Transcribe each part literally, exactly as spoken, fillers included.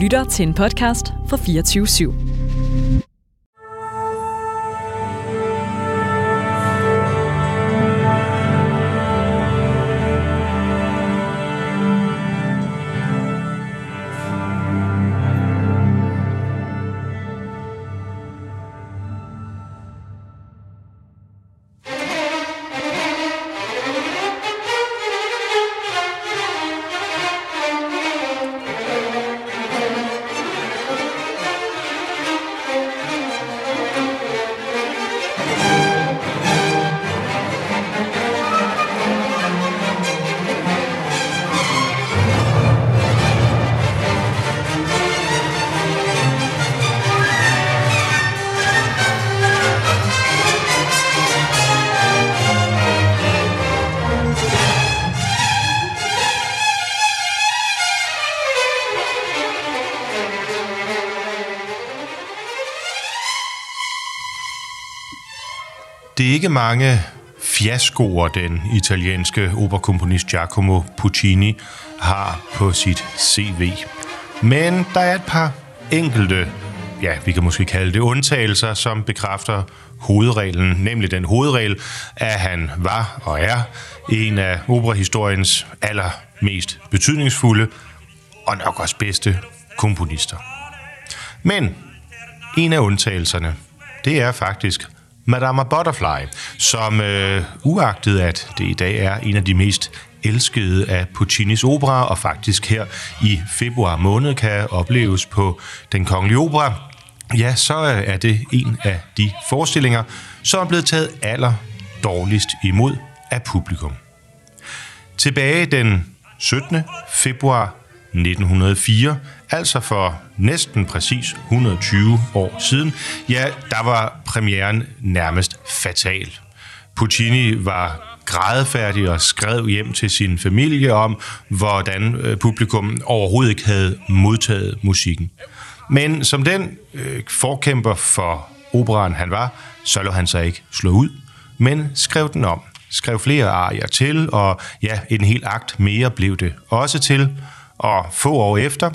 lytter til en podcast fra fireogtyve syv. Det er ikke mange fiaskoer, den italienske operakomponist Giacomo Puccini har på sit C V. Men der er et par enkelte, ja, vi kan måske kalde det undtagelser, som bekræfter hovedreglen, nemlig den hovedregel, at han var og er en af operahistoriens allermest betydningsfulde og nok også bedste komponister. Men en af undtagelserne, det er faktisk Madama Butterfly, som øh, uagtet at det i dag er en af de mest elskede af Puccinis operaer, og faktisk her i februar måned kan opleves på Den Kongelige Opera, ja, så er det en af de forestillinger, som er blevet taget aller dårligst imod af publikum. Tilbage den syttende februar nitten hundrede og fire, altså for næsten præcis et hundrede og tyve år siden, ja, der var premieren nærmest fatal. Puccini var grædefærdig og skrev hjem til sin familie om, hvordan publikum overhovedet ikke havde modtaget musikken. Men som den øh, forkæmper for operaen han var, så lå han sig ikke slå ud, men skrev den om. Skrev flere arier til, og ja, en hel akt mere blev det også til. Og få år efter,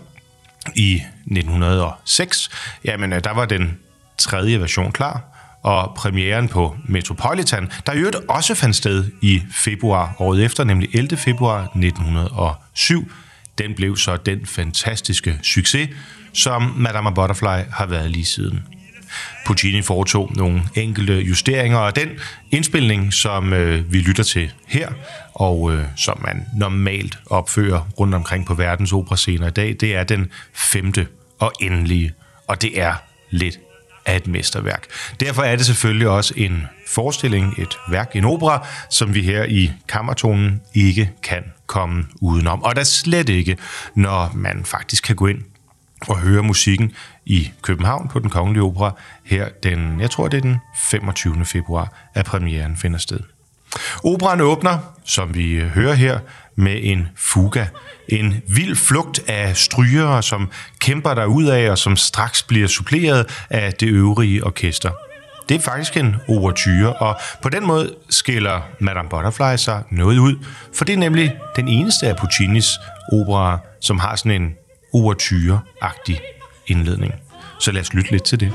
i nitten hundrede og seks, jamen der var den tredje version klar, og premieren på Metropolitan, der i øvrigt også fandt sted i februar året efter, nemlig ellevte februar nitten hundrede og syv, den blev så den fantastiske succes, som Madama Butterfly har været lige siden. Puccini foretog nogle enkelte justeringer, og den indspilning, som øh, vi lytter til her, og øh, som man normalt opfører rundt omkring på verdens operascener i dag, det er den femte og endelige, og det er lidt af et mesterværk. Derfor er det selvfølgelig også en forestilling, et værk, en opera, som vi her i Kammertonen ikke kan komme udenom. Og der slet ikke, når man faktisk kan gå ind og høre musikken i København på Den Kongelige Opera her den, jeg tror det er den femogtyvende februar, at premieren finder sted. Operaen åbner, som vi hører her, med en fuga. En vild flugt af strygere, som kæmper derudad, og som straks bliver suppleret af det øvrige orkester. Det er faktisk en ouverture, og på den måde skiller Madame Butterfly sig noget ud, for det er nemlig den eneste af Puccinis operaer, som har sådan en ouverture-agtig indledning. Så lad os lytte lidt til det.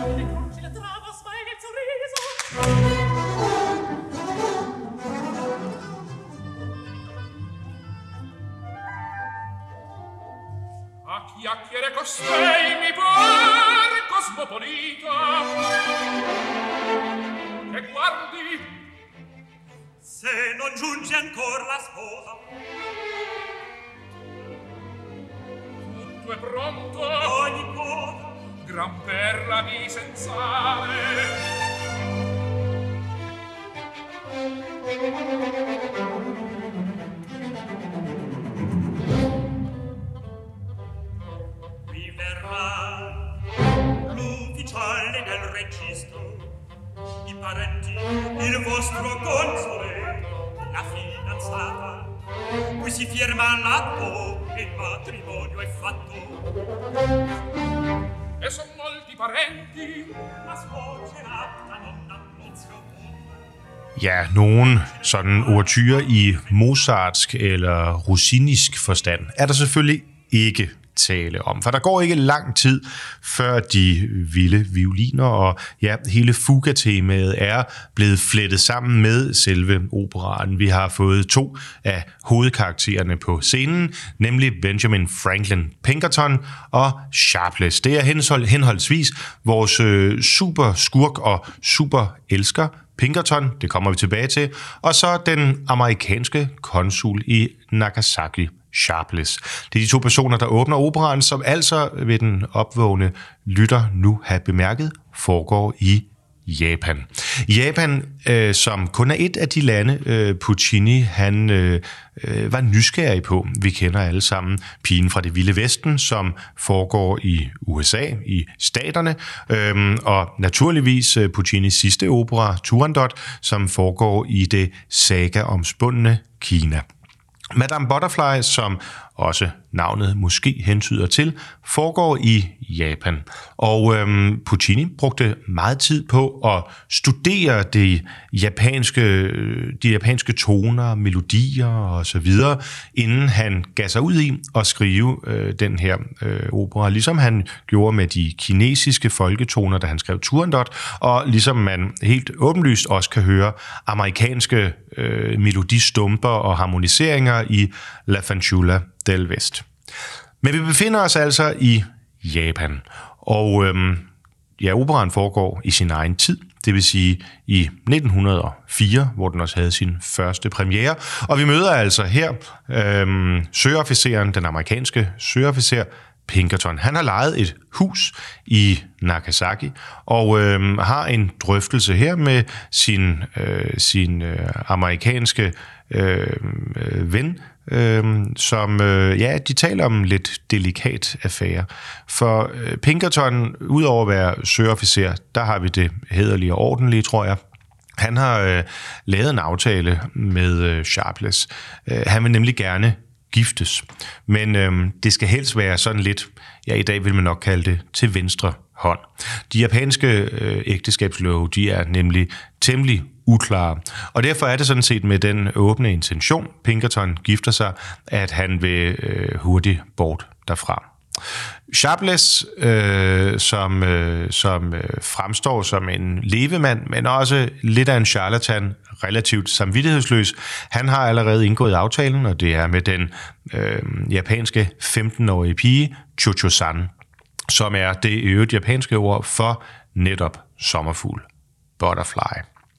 A chiacchiere costei mi par cosmopolita che guardi se non giunge ancora la sposa tutto è pronto ogni cosa gran perla di senzale qui verrà l'ufficiale del registro i parenti il vostro console la fidanzata qui si firma l'atto e il matrimonio è fatto e son molti parenti ma sfoggerà la nonna Nunzio. Ja, nogen sådan ouverture i mozartsk eller rossinisk forstand er der selvfølgelig ikke tale om. For der går ikke lang tid, før de vilde violiner og ja, hele fuga-temaet er blevet flettet sammen med selve operaen. Vi har fået to af hovedkaraktererne på scenen, nemlig Benjamin Franklin Pinkerton og Sharpless. Det er henholdsvis vores øh, super skurk og super elsker Pinkerton, det kommer vi tilbage til, og så den amerikanske konsul i Nagasaki, Sharpless. Det er de to personer, der åbner operaen, som altså ved den opvågne lytter nu have bemærket, foregår i Japan. Japan, øh, som kun er et af de lande, øh, Puccini han øh, øh, var nysgerrig på. Vi kender alle sammen Pigen fra det vilde vesten, som foregår i U S A, i staterne, øh, og naturligvis øh, Puccinis sidste opera, Turandot, som foregår i det saga-omspundne Kina. Madame Butterfly, som også navnet måske hentyder til, foregår i Japan. Og øhm, Puccini brugte meget tid på at studere de japanske, de japanske toner, melodier og så videre, inden han gav sig ud i at skrive øh, den her øh, opera, ligesom han gjorde med de kinesiske folketoner, da han skrev Turandot, og ligesom man helt åbenlyst også kan høre amerikanske øh, melodistumper og harmoniseringer i La Fanciulla del Vest. Men vi befinder os altså i Japan, og øhm, ja, operaen foregår i sin egen tid, det vil sige i nitten hundrede og fire, hvor den også havde sin første premiere, og vi møder altså her øhm, søofficeren, den amerikanske søofficer Pinkerton. Han har lejet et hus i Nagasaki og øh, har en drøftelse her med sin, øh, sin øh, amerikanske øh, ven, øh, som øh, ja, de taler om en lidt delikat affære. For øh, Pinkerton, udover at være søofficer, der har vi det hæderlige og ordentlige, tror jeg. Han har øh, lavet en aftale med øh, Sharpless. Øh, han vil nemlig gerne giftes. Men øhm, det skal helst være sådan lidt, ja, i dag vil man nok kalde det til venstre hånd. De japanske øh, ægteskabslove, de er nemlig temmelig uklare. Og derfor er det sådan set med den åbne intention, Pinkerton gifter sig, at han vil øh, hurtigt bort derfra. Sharpless, øh, som, øh, som øh, fremstår som en levemand, men også lidt af en charlatan, relativt samvittighedsløs. Han har allerede indgået aftalen, og det er med den øh, japanske femten-årige pige, Cho-Cho-san, som er det øvrigt japanske ord for netop sommerfugl, butterfly.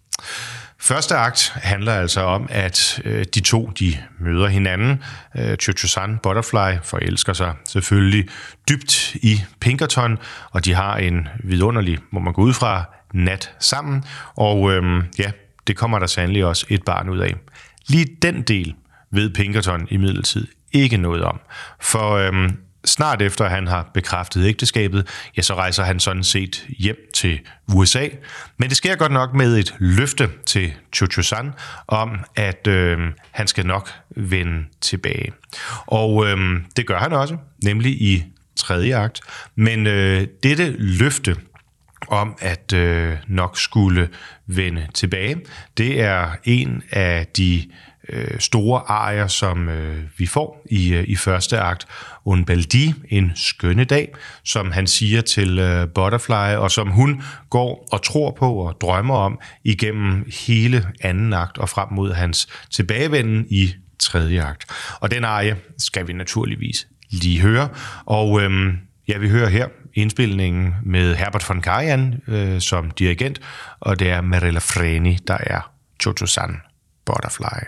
Første akt handler altså om, at øh, de to de møder hinanden. Øh, Cho-Cho-san, Butterfly, forelsker sig selvfølgelig dybt i Pinkerton, og de har en vidunderlig, må man gå ud fra, nat sammen. Og øh, ja, det kommer der sandelig også et barn ud af. Lige den del ved Pinkerton imidlertid ikke noget om. For øh, snart efter han har bekræftet ægteskabet, ja, så rejser han sådan set hjem til U S A. Men det sker godt nok med et løfte til Cho-Cho-san om, at øh, han skal nok vende tilbage. Og øh, det gør han også, nemlig i tredje akt. Men øh, dette løfte om at øh, nok skulle vende tilbage, det er en af de øh, store arier, som øh, vi får i, øh, i første akt. Un bel dì, en skønne dag, som han siger til øh, Butterfly, og som hun går og tror på og drømmer om igennem hele anden akt og frem mod hans tilbagevenden i tredje akt. Og den arie skal vi naturligvis lige høre. Og øh, ja, vi hører her indspilningen med Herbert von Karajan øh, som dirigent, og det er Merella Freni, der er Cho-Cho-san, Butterfly.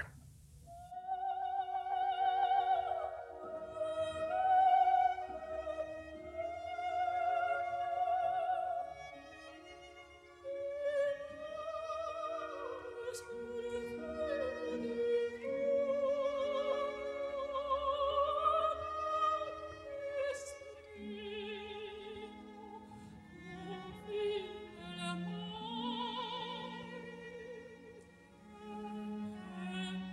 Thank you.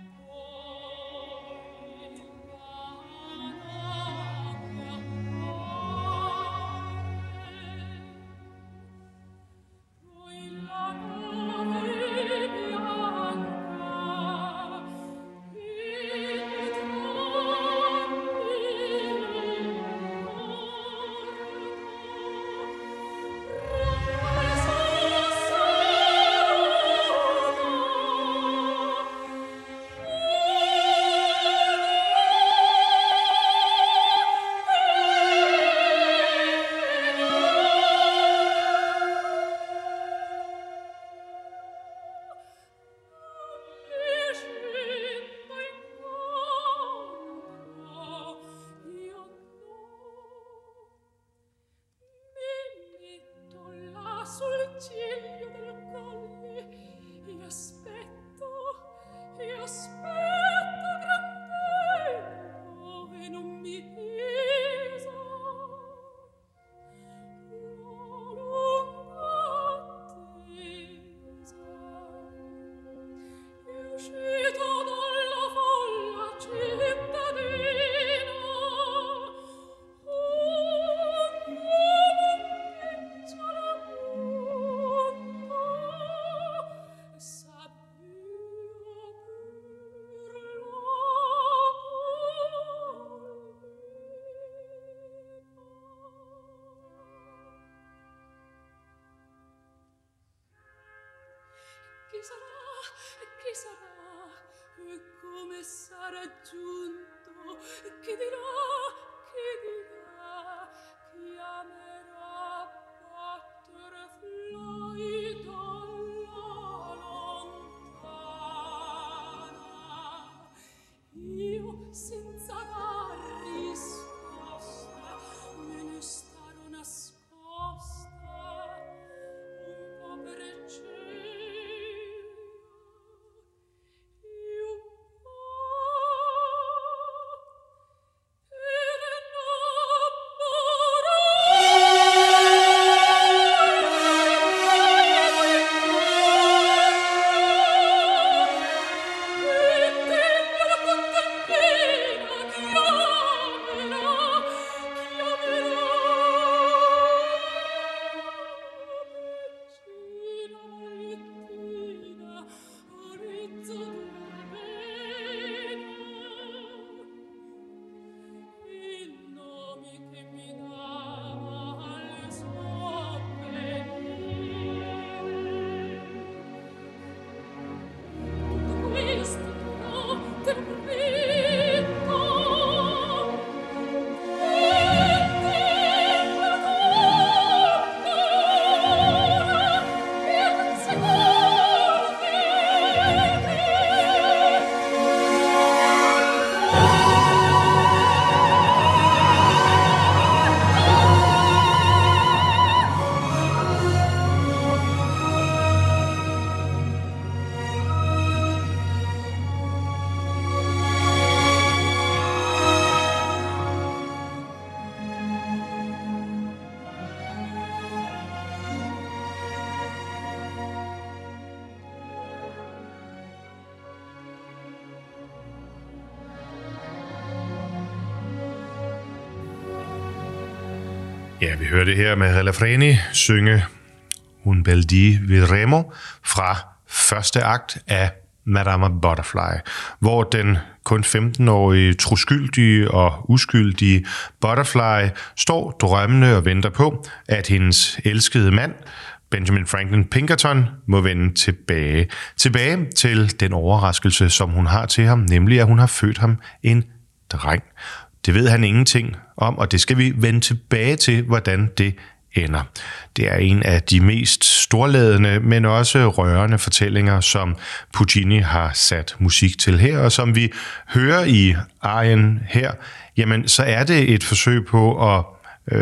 Ja, vi hørte her med Relafreni synge Un bel di Vedremo fra første akt af Madama Butterfly, hvor den kun femten-årige troskyldige og uskyldige Butterfly står drømmende og venter på, at hendes elskede mand, Benjamin Franklin Pinkerton, må vende tilbage. Tilbage til den overraskelse, som hun har til ham, nemlig at hun har født ham en dreng. Det ved han ingenting om, og det skal vi vende tilbage til, hvordan det ender. Det er en af de mest storladende, men også rørende fortællinger, som Puccini har sat musik til her, og som vi hører i arien her, jamen så er det et forsøg på at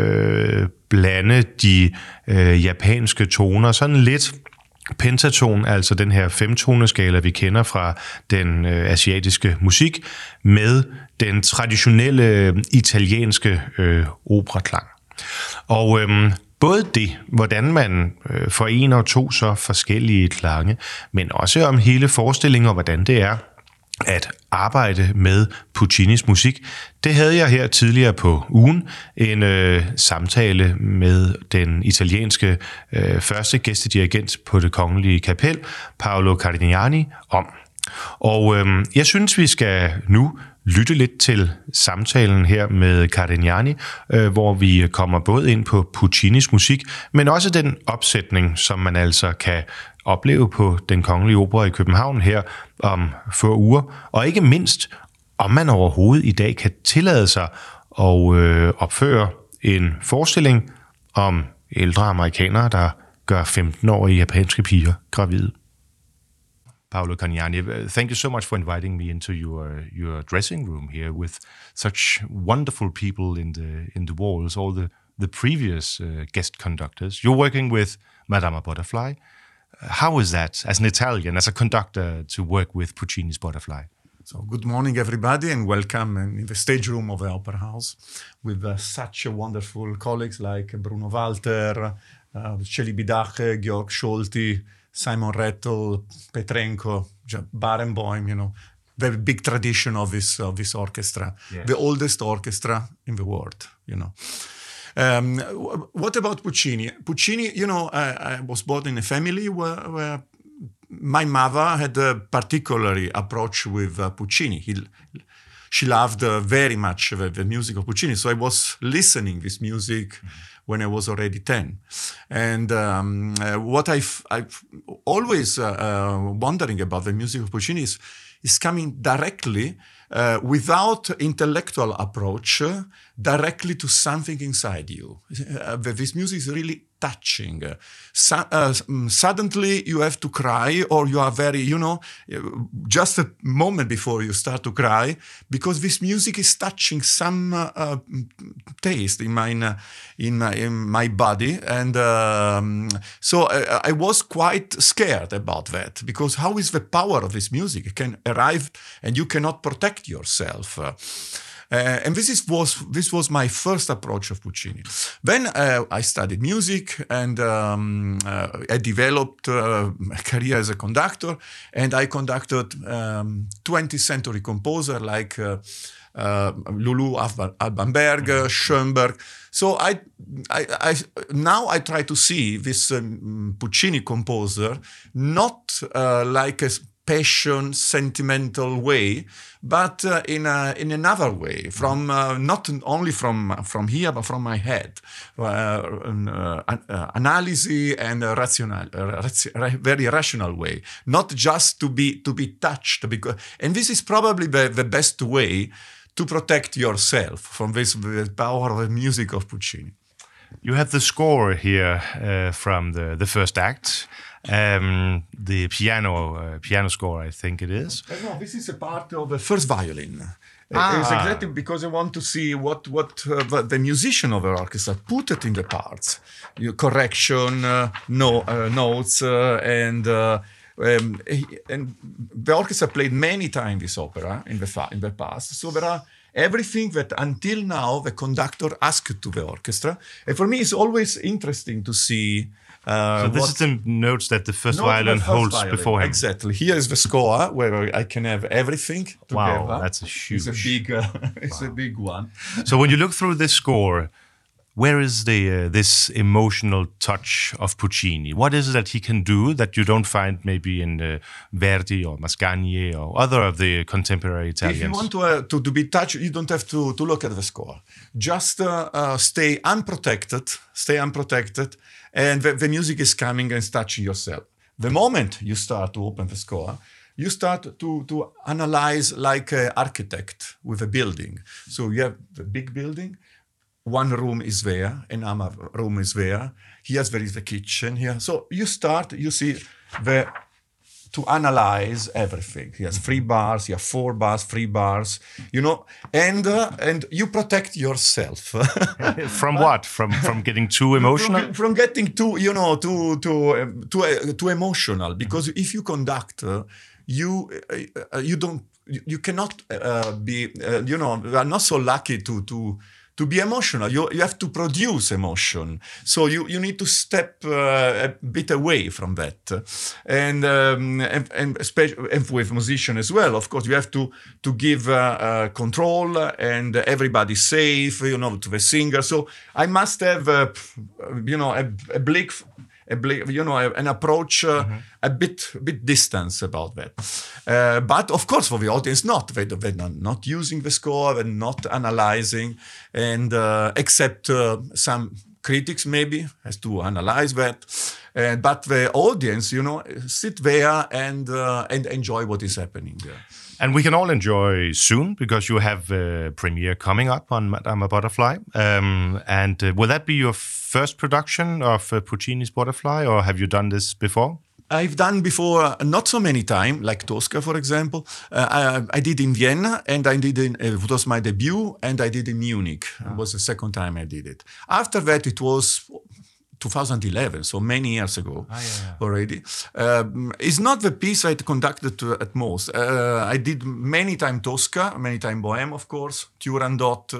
øh, blande de øh, japanske toner sådan lidt pentaton, altså den her femtoneskala, vi kender fra den øh, asiatiske musik, med den traditionelle italienske øh, operaklang. Og øh, både det, hvordan man øh, forener to så forskellige klange, men også om hele forestillingen og hvordan det er at arbejde med Puccinis musik, det havde jeg her tidligere på ugen en øh, samtale med den italienske øh, første gæstedirigent på Det Kongelige Kapel, Paolo Cardignani, om. Og øh, jeg synes, vi skal nu lytte lidt til samtalen her med Cardignani, øh, hvor vi kommer både ind på Puccinis musik, men også den opsætning, som man altså kan opleve på Den Kongelige Opera i København her om få uger, og ikke mindst, om man overhovedet i dag kan tillade sig at øh, opføre en forestilling om ældre amerikanere, der gør femten-årige japanske piger gravide. Paolo Cardignani, thank you so much for inviting me into your your dressing room here with such wonderful people in the in the walls, all the the previous uh, guest conductors. You're working with Madama Butterfly. How is that, as an Italian, as a conductor, to work with Puccini's Butterfly? So, good morning, everybody, and welcome in the stage room of the Opera House with uh, such wonderful colleagues like Bruno Walter, uh, Celibidache, Georg Scholti, Simon Rettel, Petrenko, Barenboim, you know, very big tradition of this of this orchestra, yes. The oldest orchestra in the world, you know. Um, what about Puccini? Puccini, you know, I, I was born in a family where, where my mother had a particular approach with uh, Puccini. He, she loved uh, very much the, the music of Puccini. So I was listening this music mm-hmm. when I was already ten. And um, uh, what I've, I've always uh, uh, wondering about the music of Puccini is, is coming directly, uh, without intellectual approach, uh, directly to something inside you. Uh, this music is really touching. Uh, su- uh, suddenly you have to cry, or you are very, you know, just a moment before you start to cry, because this music is touching some uh, uh, taste in my, uh, in my, in my body. And um, so I, I was quite scared about that, because how is the power of this music? It can arrive and you cannot protect yourself. Uh, Uh, and this is, was this was my first approach of Puccini. Then uh, I studied music, and um, uh, I developed uh, a career as a conductor, and I conducted um, twentieth century composer like uh, uh, Lulu Alban Berg, mm-hmm. Schoenberg. So I, I, I now I try to see this um, Puccini composer not uh, like a passion, sentimental way, but uh, in a, in another way, from uh, not only from from here, but from my head, uh, uh, uh, analysis and a rational, uh, raci- very rational way, not just to be to be touched. Because, and this is probably the, the best way to protect yourself from this the power of the music of Puccini. You have the score here uh, from the, the first act. Um, the piano uh, piano score, I think it is. Uh, no, this is a part of the first violin. Ah. It's exactly because I want to see what what uh, the musician of the orchestra put it in the parts, you, correction, uh, no uh, notes, uh, and uh, um, and the orchestra played many times this opera in the fa- in the past. So there are everything that until now the conductor asked to the orchestra, and for me it's always interesting to see. Uh, so this what, is the notes that the first violin the first holds violin. before him. Exactly. Here is the score where I can have everything together. Wow, that's a huge. It's a big. Uh, it's wow. a big one. So when you look through this score, where is the uh, this emotional touch of Puccini? What is it that he can do that you don't find maybe in uh, Verdi or Mascagni or other of the contemporary Italians? If you want to uh, to, to be touched, you don't have to to look at the score. Just uh, uh, stay unprotected. Stay unprotected. And the, the music is coming and touching yourself. The moment you start to open the score, you start to, to analyze like an architect with a building. So you have the big building, one room is there, another room is there. Here there is the kitchen here. So you start, you see the to analyze everything. He has three bars, you have four bars, three bars, you know, and uh, and you protect yourself. From what? From from getting too emotional? From, from getting too, you know, too too uh, too uh, too emotional. Because mm-hmm. if you conduct, uh, you uh, you don't you, you cannot uh, be uh, you know, you are not so lucky to to. To be emotional, you you have to produce emotion. So you, you need to step uh, a bit away from that, and um, and and, especially, and with musician as well. Of course, you have to to give uh, uh, control and everybody safe, you know, to the singer. So I must have, uh, you know, a, a blick. A, you know, an approach uh, mm-hmm. a bit, a bit distance about that. Uh, but of course, for the audience, not they, they're not using the score, they're not analyzing, and uh, except uh, some critics maybe has to analyze that. Uh, but the audience, you know, sit there and uh, and enjoy what is happening there. And we can all enjoy soon, because you have a premiere coming up on Madama Butterfly. Um, and uh, will that be your first production of uh, Puccini's Butterfly, or have you done this before? I've done before, uh, not so many times, like Tosca, for example. Uh, I, I did in Vienna, and I did in, uh, it was my debut, and I did in Munich. Oh. It was the second time I did it. After that, it was two thousand eleven, so many years ago ah, yeah, yeah. already. Um, it's not the piece I conducted to, at most. Uh, I did many time Tosca, many time Bohème, of course, Turandot.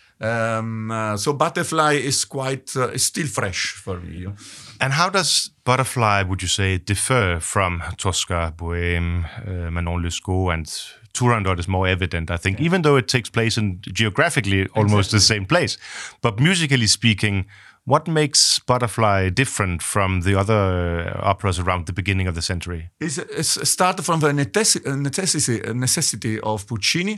Um, uh, so Butterfly is quite, uh, is still fresh for me. And how does Butterfly, would you say, differ from Tosca, Bohème, uh, Manon Lescaut, and Turandot is more evident, I think, yeah. even though it takes place in geographically almost exactly. the same place. But musically speaking, what makes Butterfly different from the other operas around the beginning of the century? It's, it's started from the necessity, necessity of Puccini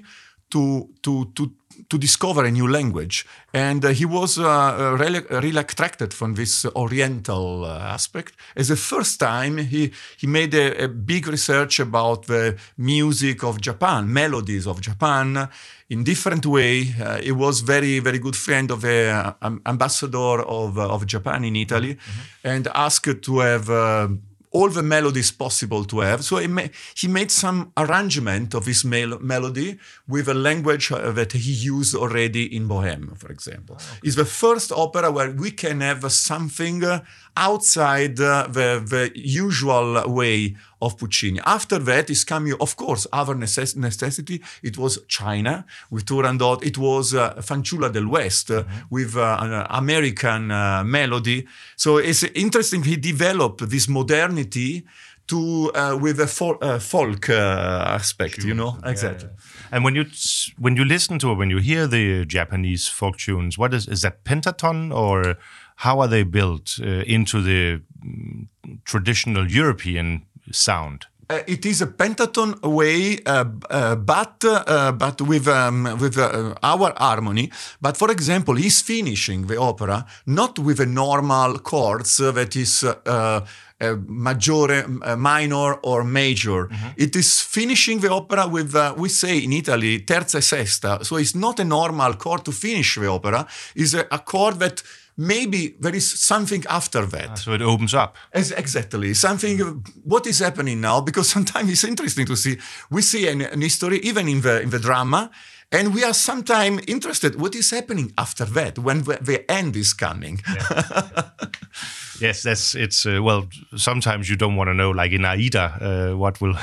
to to to to discover a new language, and uh, he was uh, really, really attracted from this Oriental uh, aspect. As the first time, he he made a, a big research about the music of Japan, melodies of Japan, in different way. Uh, he was very very good friend of the uh, um, ambassador of uh, of Japan in Italy, mm-hmm. and asked to have. Uh, all the melodies possible to have. So he, ma- he made some arrangement of his mel- melody with a language uh, that he used already in Bohème, for example. Oh, okay. It's the first opera where we can have something uh, outside uh, the, the usual way of Puccini. After that is coming, of course, other necess- necessity. It was China with Turandot. It was uh, Fanciulla del West uh, mm-hmm. with uh, an American uh, melody. So it's interesting. He developed this modernity to uh, with a fol- uh, folk uh, aspect, sure. you know, yeah, exactly. Yeah. And when you when you listen to or when you hear the Japanese folk tunes, what is is that pentatone, or how are they built uh, into the um, traditional European sound? Uh, it is a pentatone way, uh, uh, but uh, but with um, with uh, our harmony. But for example, he's finishing the opera not with a normal chords uh, that is uh, uh, maggiore, uh, minor, or major. Mm-hmm. It is finishing the opera with uh, we say in Italy terza e sesta. So it's not a normal chord to finish the opera. It's a, a chord that. Maybe there is something after that. Ah, so it opens up. As, exactly. Something, what is happening now? Because sometimes it's interesting to see, we see an, an history, even in the in the drama, and we are sometimes interested what is happening after that, when the, the end is coming. Yeah. Yes, that's, it's, uh, well, sometimes you don't want to know, like in Aida, uh, what will...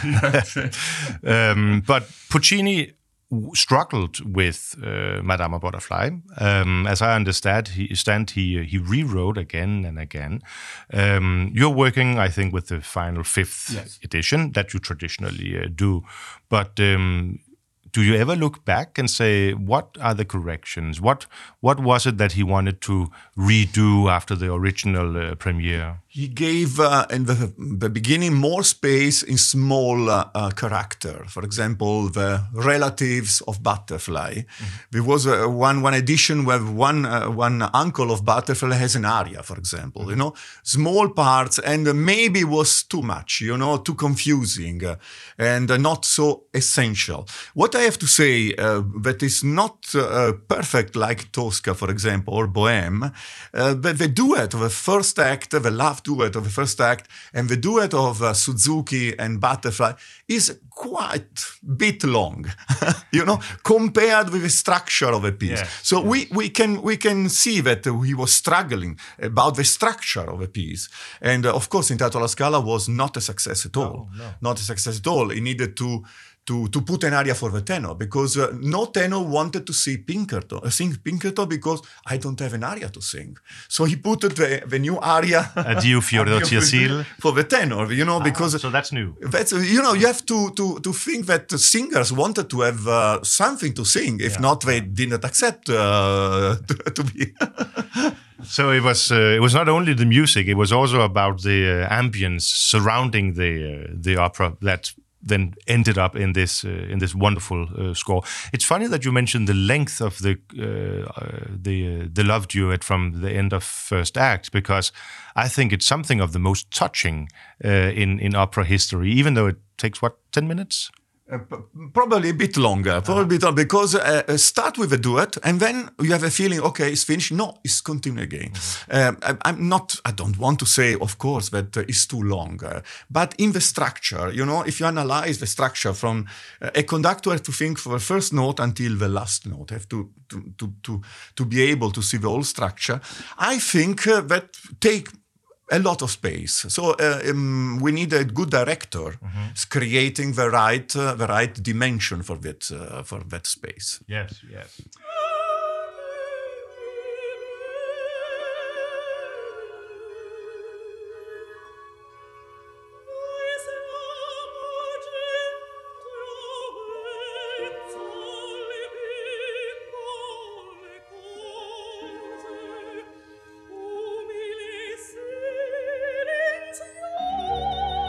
um, but Puccini struggled with uh, Madama Butterfly. Um, as I understand, he stand he he rewrote again and again. Um, you're working, I think, with the final fifth yes. edition that you traditionally uh, do, but. Um, Do you ever look back and say, what are the corrections? What what was it that he wanted to redo after the original uh, premiere? He gave, uh, in the, the beginning, more space in small uh, uh, character. For example, the relatives of Butterfly. Mm-hmm. There was uh, one one edition where one uh, one uncle of Butterfly has an aria, for example. Mm-hmm. You know, small parts, and uh, maybe was too much. You know, too confusing, uh, and uh, not so essential. What I have to say uh, that is not uh, perfect, like Tosca, for example, or Bohème. Uh, the, the duet of the first act, the love duet of the first act, and the duet of uh, Suzuki and Butterfly is quite bit long, you know, compared with the structure of a piece. Yeah, so yeah. we we can we can see that uh, he was struggling about the structure of a piece, and uh, of course, Intanto alla Scala was not a success at all. No, no. Not a success at all. He needed to. To, to put an aria for the tenor, because uh, no tenor wanted to see Pinkerton, uh, sing Pinkerton, because I don't have an aria to sing. So he put the, the new aria Addio Fiore Sil for the tenor, you know, ah, because so that's new. That's you know you have to to to think that the singers wanted to have uh, something to sing. If yeah. not, they didn't accept uh, to, to be. So it was uh, it was not only the music; it was also about the uh, ambience surrounding the uh, the opera that. Then ended up in this uh, in this wonderful uh, score. It's funny that you mentioned the length of the uh, uh, the uh, the love duet from the end of first act, because I think it's something of the most touching uh, in in opera history, even though it takes what ten minutes. Uh, p- probably a bit longer, probably a bit longer, because uh, start with a duet and then you have a feeling, okay, it's finished. No, it's continue again. Mm-hmm. Uh, I, I'm not, I don't want to say, of course, that uh, it's too long, uh, but in the structure, you know, if you analyze the structure from uh, a conductor has to think from the first note until the last note, have to to to to, to be able to see the whole structure. I think uh, that take a lot of space. So uh, um, we need a good director mm-hmm. creating the right uh, the right dimension for that uh, for that space. Yes, yes.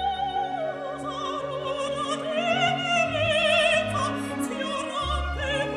Thank you.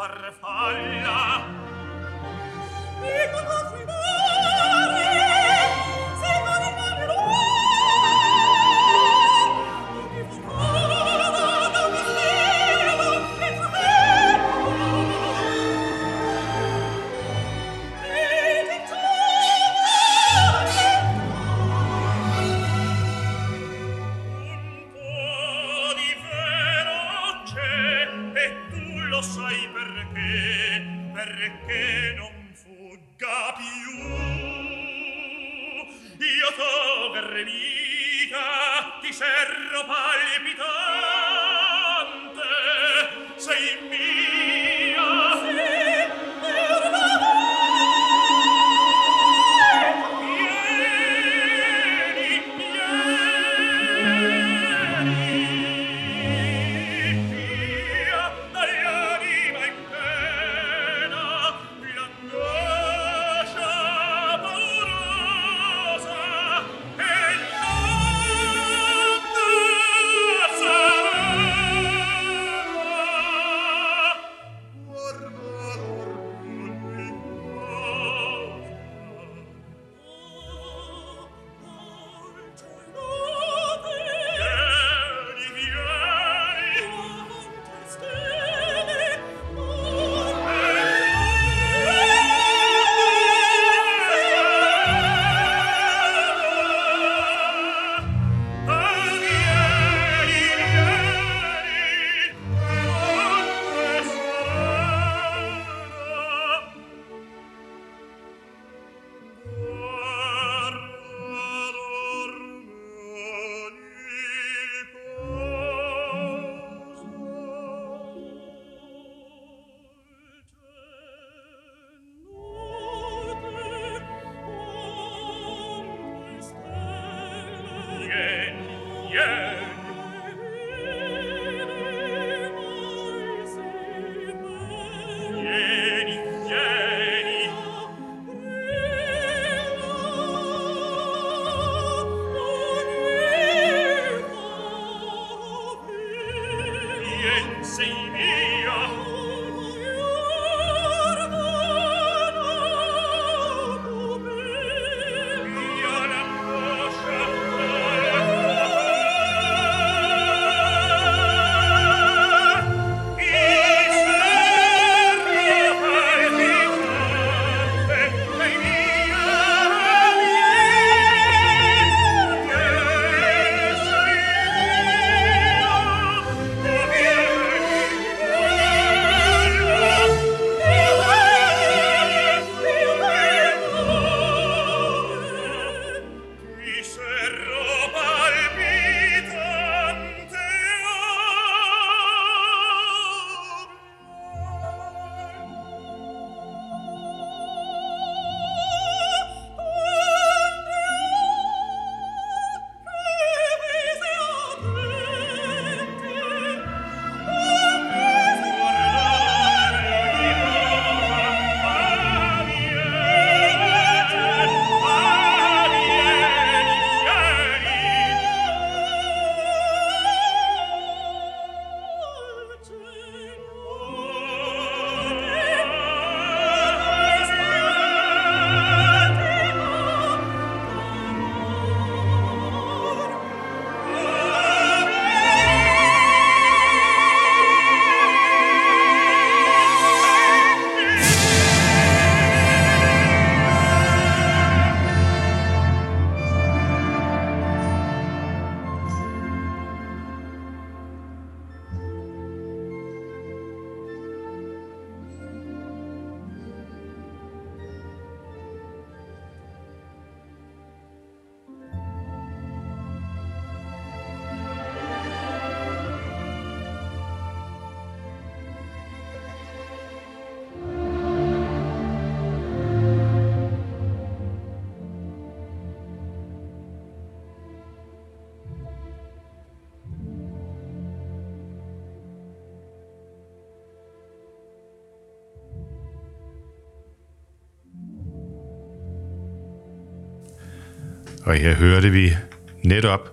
farfalla e con vostri perché non fugga più io t'ho gredita ti serro palpitante sei mia vieni vieni via dall'anima in pena l'angoscia paurosa e notte sarà guarda l'orgoglio in Og her hørte vi netop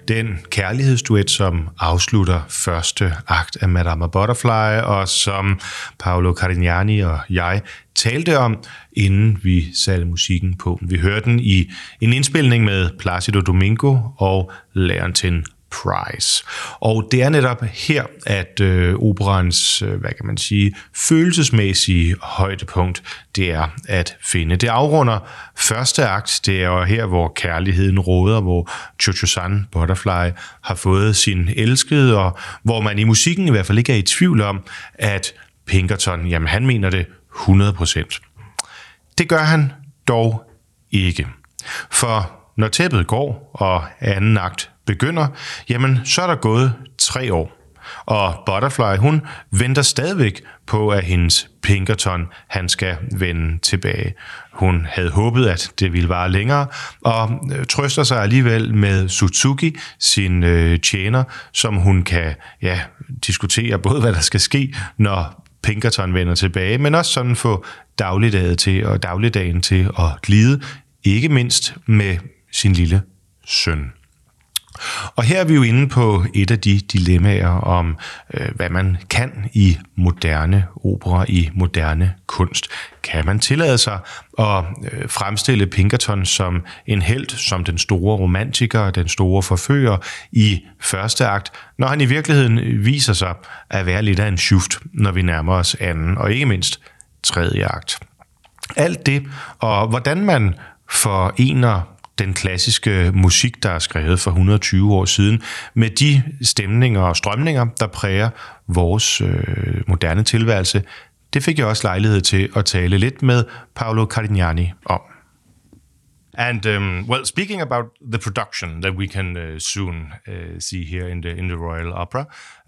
den kærlighedsduet, som afslutter første akt af Madama Butterfly, og som Paolo Carignani og jeg talte om, inden vi satte musikken på. Vi hørte den i en indspilning med Plácido Domingo og Leontyne Price. Og det er netop her, at øh, operans, øh, hvad kan man sige, følelsesmæssige højdepunkt, det er at finde. Det afrunder første akt, det er jo her, hvor kærligheden råder, hvor Cho-Cho-San Butterfly har fået sin elskede, og hvor man i musikken i hvert fald ikke er i tvivl om, at Pinkerton, jamen han mener det hundrede procent. Det gør han dog ikke. For når tæppet går, og anden akt begynder, jamen så er der gået tre år. Og Butterfly, hun venter stadigvæk på, at hendes Pinkerton, han skal vende tilbage. Hun havde håbet, at det ville vare længere, og trøster sig alligevel med Suzuki, sin øh, tjener, som hun kan ja, diskutere både, hvad der skal ske, når Pinkerton vender tilbage, men også sådan få dagligdagen til, og dagligdagen til at glide, ikke mindst med sin lille søn. Og her er vi jo inde på et af de dilemmaer om, øh, hvad man kan i moderne opera, i moderne kunst. Kan man tillade sig at øh, fremstille Pinkerton som en helt, som den store romantiker, den store forfører i første akt, når han i virkeligheden viser sig at være lidt af en schuft, når vi nærmer os anden, og ikke mindst tredje akt. Alt det, og hvordan man forener den klassiske musik, der er skrevet for et hundrede og tyve år siden, med de stemninger og strømninger, der præger vores øh, moderne tilværelse, det fik jeg også lejlighed til at tale lidt med Paolo Carignani om. And um, well, speaking about the production that we can uh, soon uh, see here in the in the Royal Opera,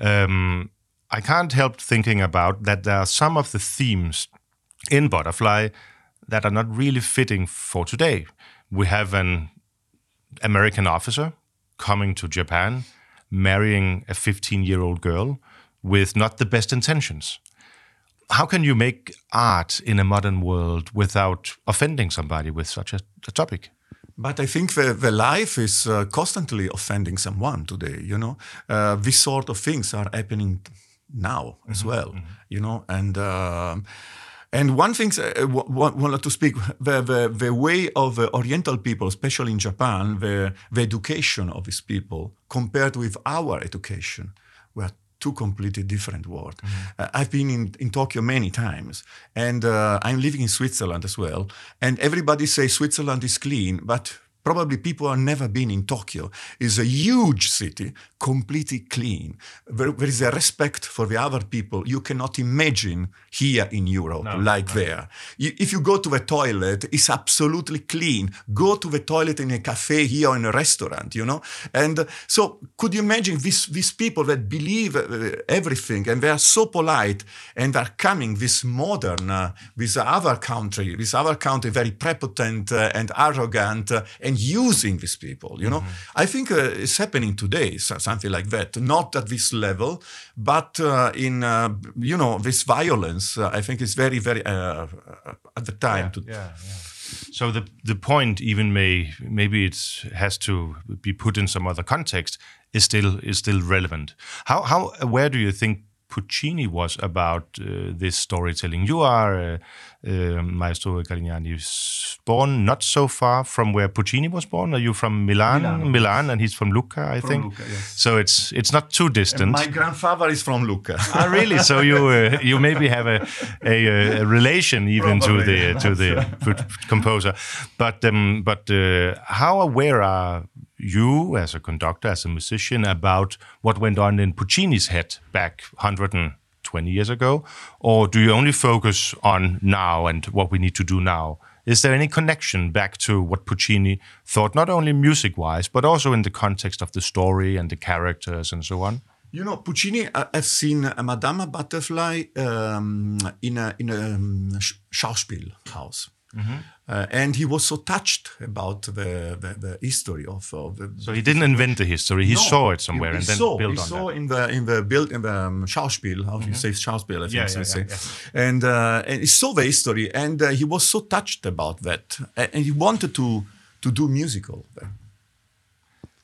um, I can't help thinking about that there are some of the themes in Butterfly that are not really fitting for today. We have an American officer coming to Japan, marrying a fifteen-year-old girl with not the best intentions. How can you make art in a modern world without offending somebody with such a, a topic? But I think the, the life is uh, constantly offending someone today, you know. Uh, these sort of things are happening now mm-hmm. as well, mm-hmm. you know, and... Uh, And one thing I wanted to speak, the, the, the way of the Oriental people, especially in Japan, the, the education of these people compared with our education were two completely different worlds. Mm-hmm. Uh, I've been in, in Tokyo many times, and uh, I'm living in Switzerland as well, and everybody says Switzerland is clean, but probably people who have never been in Tokyo. It's a huge city, completely clean. There, there is a respect for the other people you cannot imagine here in Europe, no, like no. there. You, if you go to the toilet, it's absolutely clean. Go to the toilet in a cafe here or in a restaurant, you know? And uh, so could you imagine these, these people that believe uh, everything and they are so polite and are coming this modern, uh, this other country, this other country very prepotent uh, and arrogant uh, and using these people, you know? Mm-hmm. I think uh, it's happening today, so something like that. Not at this level, but uh, in, uh, you know, this violence, uh, I think it's very, very, uh, at the time. Yeah, to yeah, yeah. So the the point even may, maybe it has to be put in some other context, is still is still relevant. How, how aware do you think Puccini was about uh, this storytelling? You are, uh, uh, Maestro Carignani, born not so far from where Puccini was born. Are you from Milan? Milan, Milan, and he's from Lucca, I from think. Lucca, yes. So it's it's not too distant. And my grandfather is from Lucca. Ah, really? So you uh, you maybe have a a, a relation even Probably, to the uh, to the composer. But um, but uh, how aware are you as a conductor, as a musician, about what went on in Puccini's head back one hundred twenty years ago? Or do you only focus on now and what we need to do now? Is there any connection back to what Puccini thought, not only music-wise, but also in the context of the story and the characters and so on? You know, Puccini uh, has seen uh, Madama Butterfly um, in a, in a um, Schauspielhaus. Mm-hmm. Uh, and he was so touched about the, the, the history of, of the. So he didn't invent the history; he no, saw it somewhere he, he and then saw, built he on saw that. in the in the build in the um, Schauspiel, how do mm-hmm. you say Schauspiel? I think yeah, so yeah, say. Yeah, yeah. And uh, and he saw the history, and uh, he was so touched about that, and he wanted to to do musical.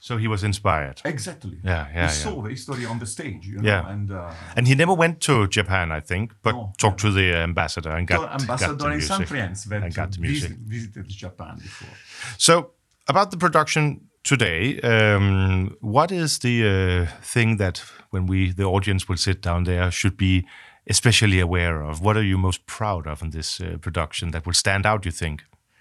So he was inspired. Exactly. Yeah, yeah, He yeah. saw the history on the stage, you know, Yeah. and uh, And he never went to Japan, I think, but No, talked to the ambassador and got, so got ambassador the and some music. friends that and got the music. visit, visited Japan before. So, about the production today, um, what is the uh, thing that when we, the audience, will sit down there, should be especially aware of? What are you most proud of in this uh, production that will stand out, you think?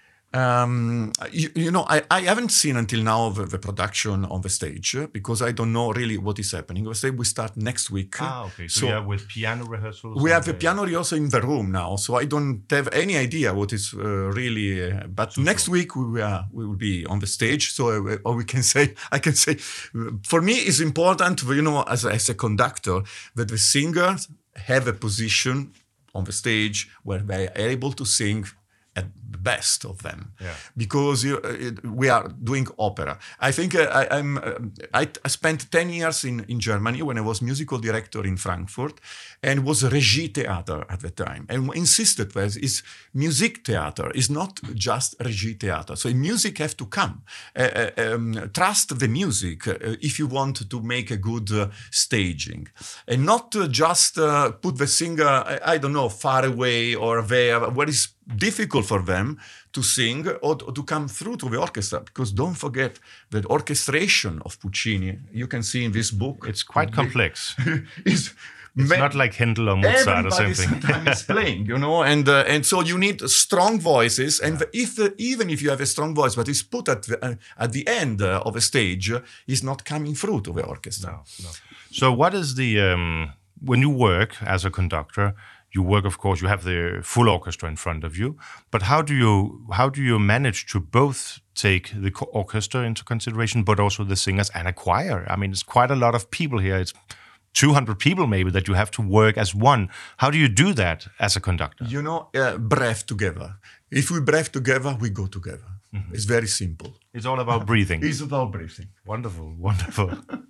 Um, you, you know, I, I haven't seen until now the, the production on the stage uh, because I don't know really what is happening. We say we start next week. Ah, okay. So, So yeah, with piano rehearsals? we and, have the uh, piano rehearsal in the room now, so I don't have any idea what is uh, really. Uh, but next week we are we will be on the stage, so uh, or we can say I can say uh, for me it's important, you know, as a, as a conductor, that the singers have a position on the stage where they are able to sing at the best of them, Yeah. because you, uh, it, we are doing opera. I think uh, I, I'm. Uh, I, I spent ten years in, in Germany when I was musical director in Frankfurt, and was Regie Theater at the time, and insisted that is music theater is not just Regie Theater. So music have to come. Uh, uh, um, trust the music uh, if you want to make a good uh, staging, and not uh, just uh, put the singer. I, I don't know, far away or there where it's difficult for them to sing or to come through to the orchestra, because don't forget that orchestration of Puccini, you can see in this book, It's quite complex. is It's not like Handel or Mozart or everybody something. sometimes playing, you know, and uh, and so you need strong voices, and the, if uh, even if you have a strong voice, but it's put at the, uh, at the end uh, of a stage, uh, is not coming through to the orchestra. No, no. So what is the, um, when you work as a conductor, you work, of course, you have the full orchestra in front of you, but how do you how do you manage to both take the co- orchestra into consideration, but also the singers and a choir? I mean, it's quite a lot of people here. It's two hundred people maybe that you have to work as one. How do you do that as a conductor? You know, uh, breath together. If we breathe together, we go together. Mm-hmm. It's very simple. It's all about breathing. It's about breathing. Wonderful, wonderful.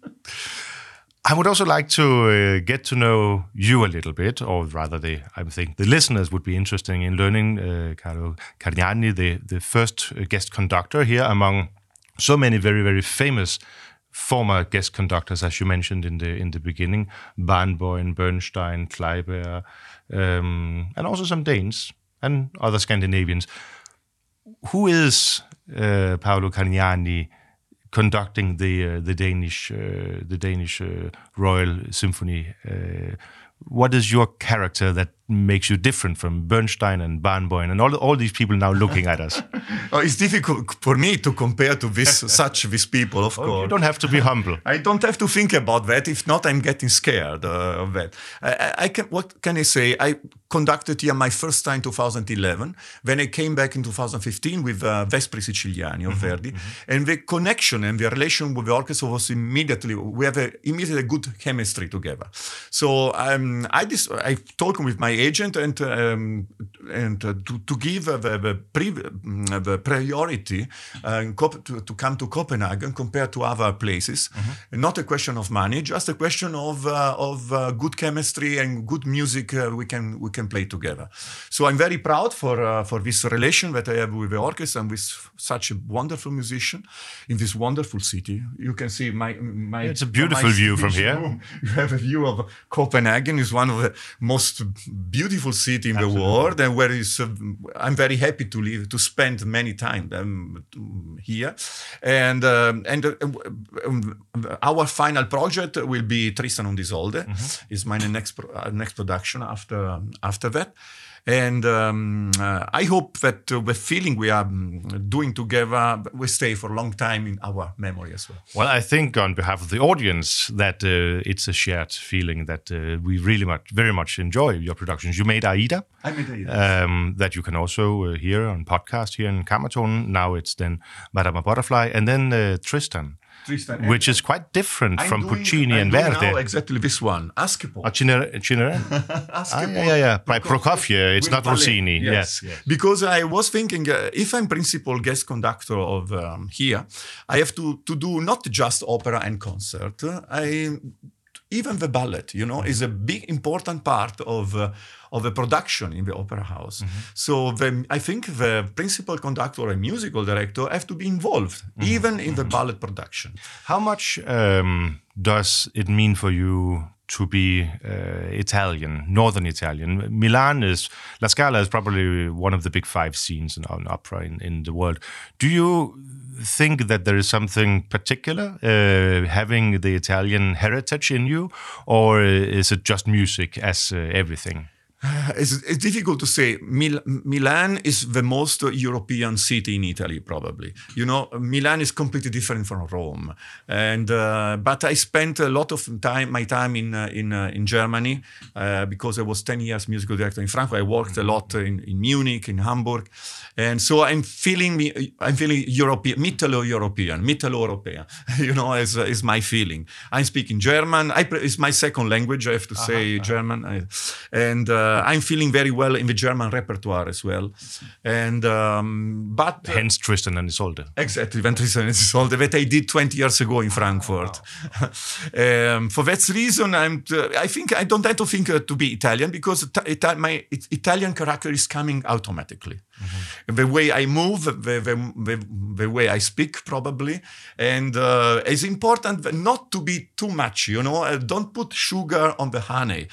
I would also like to uh, get to know you a little bit, or rather, the I think the listeners would be interested in learning uh, Carlo Carignani, the, the first guest conductor here among so many very, very famous former guest conductors, as you mentioned in the in the beginning, Barenboim, Bernstein, Kleiber, um, and also some Danes and other Scandinavians. Who is uh, Paolo Carignani conducting the uh, the Danish uh, the Danish uh, Royal Symphony? Uh, what is your character that makes you different from Bernstein and Barenboim and all all these people now looking at us? Oh, it's difficult for me to compare to this such these people, of Oh, course. you don't have to be humble. I don't have to think about that. If not, I'm getting scared uh, of that. I, I, I can. What can I say? I conducted here my first time in two thousand eleven. When I came back in two thousand fifteen with uh, Vespri Siciliani of Mm-hmm, Verdi, mm-hmm. and the connection and the relation with the orchestra was immediately. We have a, immediately a good chemistry together. So um, I dis- I talked with my agent and um, and uh, to to give uh, the the, pre- uh, the priority uh, in Cop- to, to come to Copenhagen compared to other places. Mm-hmm. Not a question of money, just a question of uh, of uh, good chemistry and good music uh, we can we can play together. So I'm very proud for uh, for this relation that I have with the orchestra and with such a wonderful musician in this wonderful city. You can see my my. It's a beautiful my view from speech here. room. You have a view of Copenhagen. Is one of the most beautiful city in Absolutely. the world, and where is uh, I'm very happy to live to spend many time um, here, and um, and uh, um, our final project will be Tristan und Isolde. Mm-hmm. Is my next pro- uh, next production after after that. And um, uh, I hope that uh, the feeling we are um, doing together will stay for a long time in our memory as well. Well, I think on behalf of the audience that uh, it's a shared feeling that uh, we really much, very much enjoy your productions. You made Aida. I made Aida. Um, that you can also uh, hear on podcast here in Kammerton. Now it's then Madame Butterfly, and then uh, Tristan. Tristan, which is quite different I'm from doing, Puccini I'm and doing Verdi. now exactly this one, Askepo. Oh, Cinere, Cinere? ah, yeah, yeah, yeah. By Prokofiev. It's with not ballet. Rossini. Yes. Yes, yes. Because I was thinking, uh, if I'm principal guest conductor of um, here, I have to, to do not just opera and concert. I even the ballet, you know, is a big important part of uh, of a production in the opera house. Mm-hmm. So the, I think the principal conductor and musical director have to be involved, mm-hmm. even in the ballet production. How much um, does it mean for you to be uh, Italian, Northern Italian? Milan is, La Scala is probably one of the big five scenes in an opera in, in the world. Do you think that there is something particular uh, having the Italian heritage in you, or is it just music as uh, everything? It's, it's difficult to say. Mil- Milan is the most European city in Italy, probably. You know, Milan is completely different from Rome, and uh, but I spent a lot of time, my time in uh, in uh, in Germany uh, because I was ten years musical director in Frankfurt. I worked a lot in, in Munich, in Hamburg, and so I'm feeling me. I'm feeling European, Mitteleuropean, Mitteleuropean. You know, is is my feeling. I'm speaking German. I it's my second language. I have to say uh-huh. German, I, and. Uh, I'm feeling very well in the German repertoire as well, and um, but uh, hence Tristan and Isolde. Exactly, when Tristan and Isolde that I did twenty years ago in Frankfurt. Oh, wow. um, for that reason, I'm. Uh, I think I don't have to think uh, to be Italian because Ita- my it, Italian character is coming automatically. Mm-hmm. The way I move, the, the, the, the way I speak, probably, and uh, it's important not to be too much. You know, uh, don't put sugar on the honey.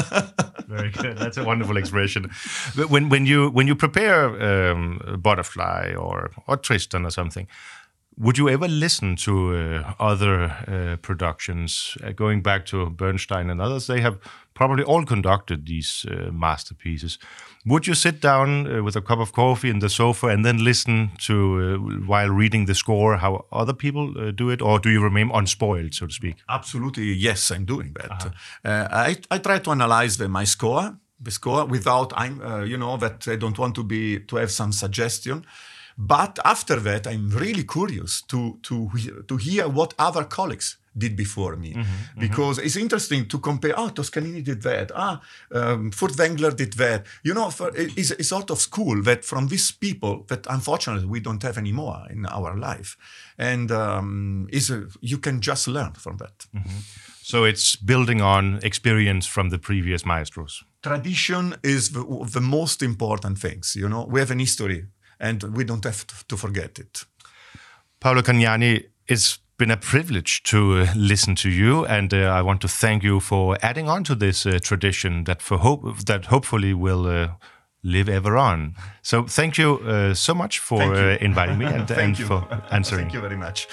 Very good. That's a wonderful expression. But when when you when you prepare um, Butterfly or or Tristan or something, would you ever listen to uh, other uh, productions? Uh, going back to Bernstein and others, they have probably all conducted these uh, masterpieces. Would you sit down uh, with a cup of coffee in the sofa and then listen to, uh, while reading the score, how other people uh, do it? Or do you remain unspoiled, so to speak? Absolutely, yes, I'm doing that. Uh-huh. Uh, I, I try to analyze the, my score, the score without, I'm, uh, you know, that I don't want to be, to have some suggestion. But after that, I'm really curious to, to, to hear what other colleagues did before me, mm-hmm, because mm-hmm. it's interesting to compare. Oh, Toscanini did that. Ah, um, Furtwängler did that. You know, for, it's a sort of school that from these people that unfortunately we don't have anymore in our life, and um, is a, you can just learn from that. Mm-hmm. So it's building on experience from the previous maestros. Tradition is the, the most important things. You know, we have an history, and we don't have to, to forget it. Paolo Cagnani, it's been a privilege to uh, listen to you, and uh, I want to thank you for adding on to this uh, tradition that for hope that hopefully will uh, live ever on. So thank you uh, so much for uh, inviting me and, and for answering. Thank you very much.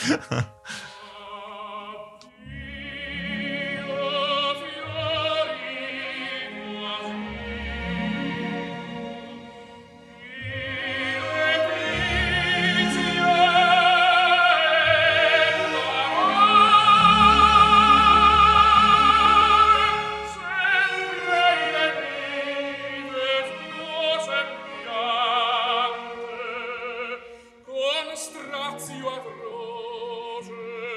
Strazio atroce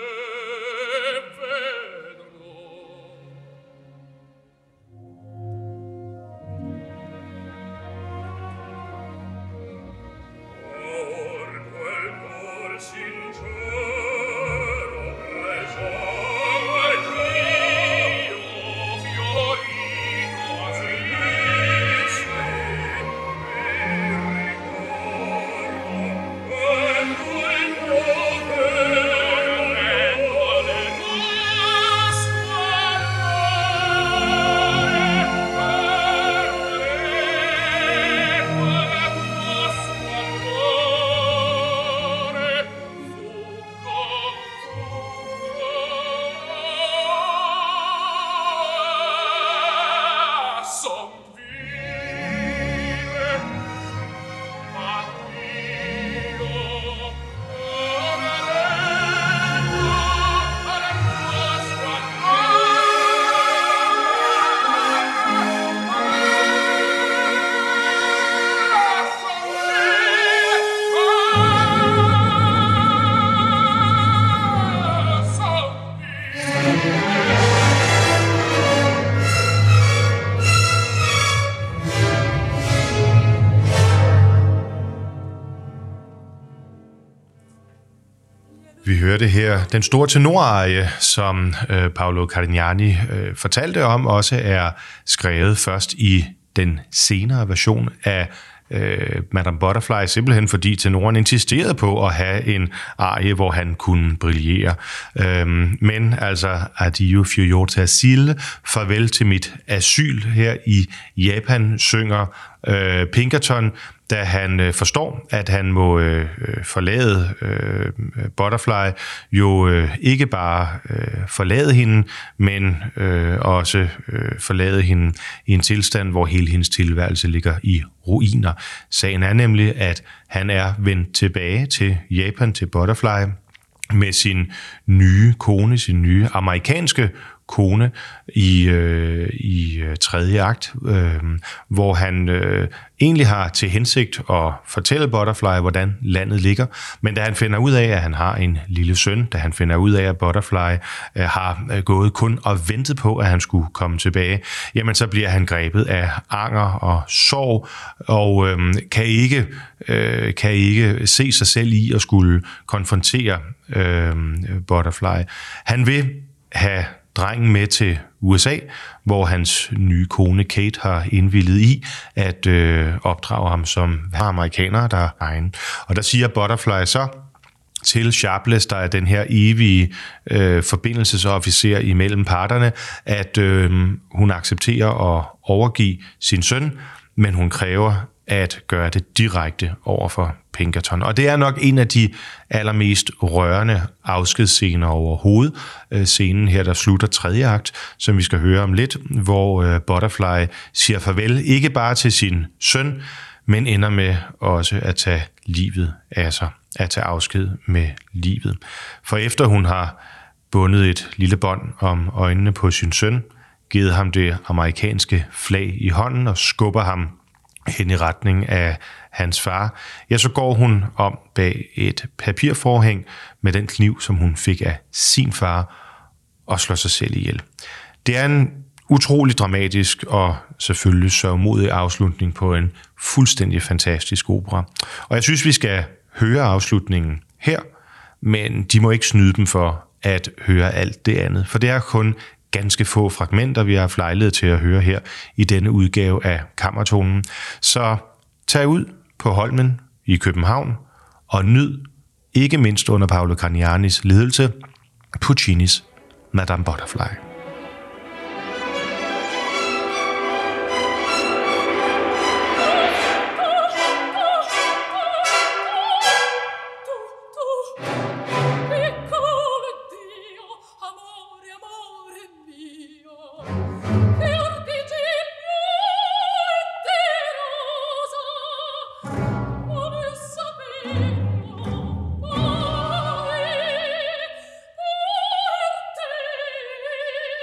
Vi hørte her den store tenorarie, som øh, Paolo Carignani øh, fortalte om, også er skrevet først i den senere version af øh, Madame Butterfly, simpelthen fordi tenoren insisterede på at have en arie, hvor han kunne brillere. Øhm, men altså, Addio figlio asil, farvel til mit asyl her i Japan, synger øh, Pinkerton, da han øh, forstår, at han må øh, forlade øh, Butterfly, jo øh, ikke bare øh, forlade hende, men øh, også øh, forlade hende i en tilstand, hvor hele hendes tilværelse ligger i ruiner. Sagen er nemlig, at han er vendt tilbage til Japan, til Butterfly, med sin nye kone, sin nye amerikanske kone i, øh, i tredje akt, øh, hvor han øh, egentlig har til hensigt at fortælle Butterfly, hvordan landet ligger, men da han finder ud af, at han har en lille søn, da han finder ud af, at Butterfly øh, har gået kun og ventet på, at han skulle komme tilbage, jamen så bliver han grebet af anger og sorg, og øh, kan, ikke, øh, kan ikke se sig selv i at skulle konfrontere øh, Butterfly. Han vil have drengen med til U S A, hvor hans nye kone Kate har indvilliget i at øh, opdrage ham som amerikaner, der er egen. Og der siger Butterfly så til Sharpless, der er den her evige øh, forbindelsesofficer imellem parterne, at øh, hun accepterer at overgive sin søn, men hun kræver at gøre det direkte over for Pinkerton. Og det er nok en af de allermest rørende afskedsscener overhovedet. Scenen her, der slutter tredje akt, som vi skal høre om lidt, hvor Butterfly siger farvel, ikke bare til sin søn, men ender med også at tage livet af sig, at tage afsked med livet. For efter hun har bundet et lille bånd om øjnene på sin søn, givet ham det amerikanske flag i hånden og skubber ham hen i retning af hans far, ja, så går hun om bag et papirforhæng med den kniv, som hun fik af sin far, og slår sig selv ihjel. Det er en utrolig dramatisk og selvfølgelig sørgmodig afslutning på en fuldstændig fantastisk opera. Og jeg synes, vi skal høre afslutningen her, men de må ikke snyde dem for at høre alt det andet, for det er kun ganske få fragmenter, vi har haft lejlighed til at høre her i denne udgave af Kammertonen. Så tag ud på Holmen i København og nyd, ikke mindst under Paolo Carignanis ledelse, Puccinis Madame Butterfly. Thank you.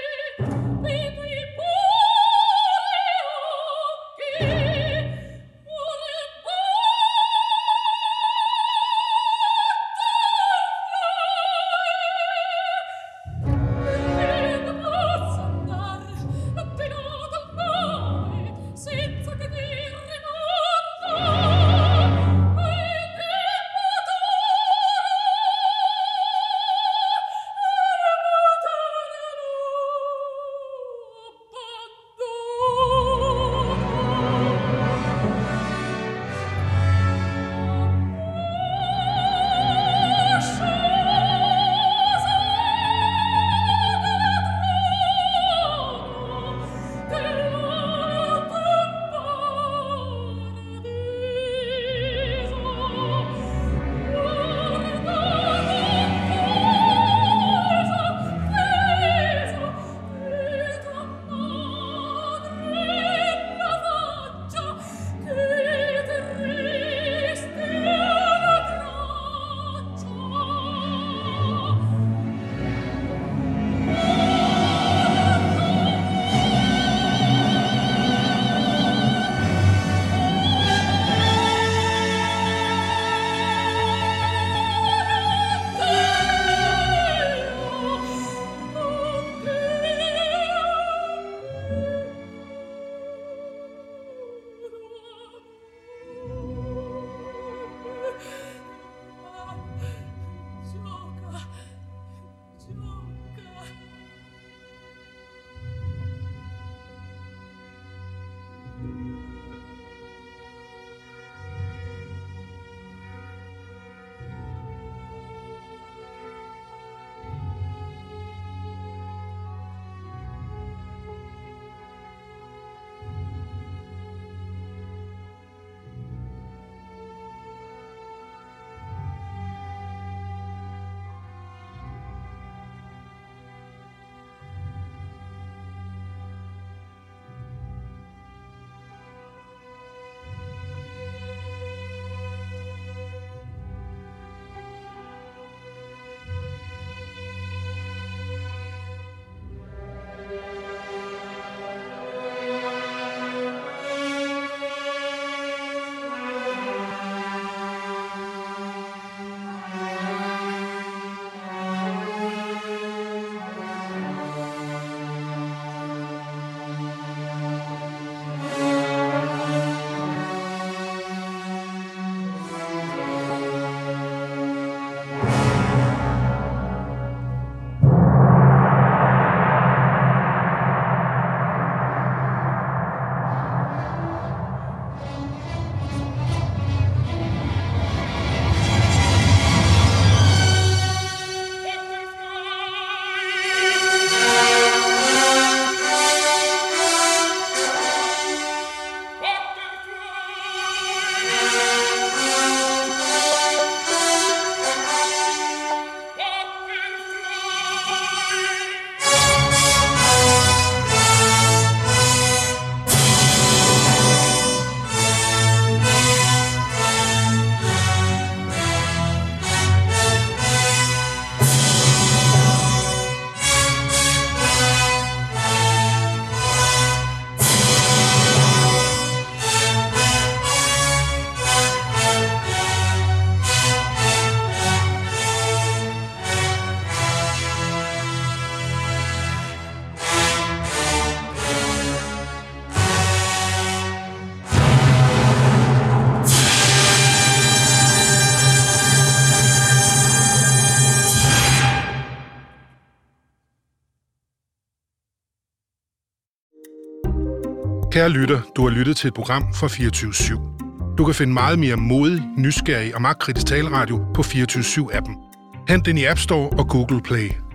Kære lytter, du har lyttet til et program fra fireogtyve syv. Du kan finde meget mere modig, nysgerrig og magtkritisk taleradio på fireogtyve syv appen. Hent den i App Store og Google Play.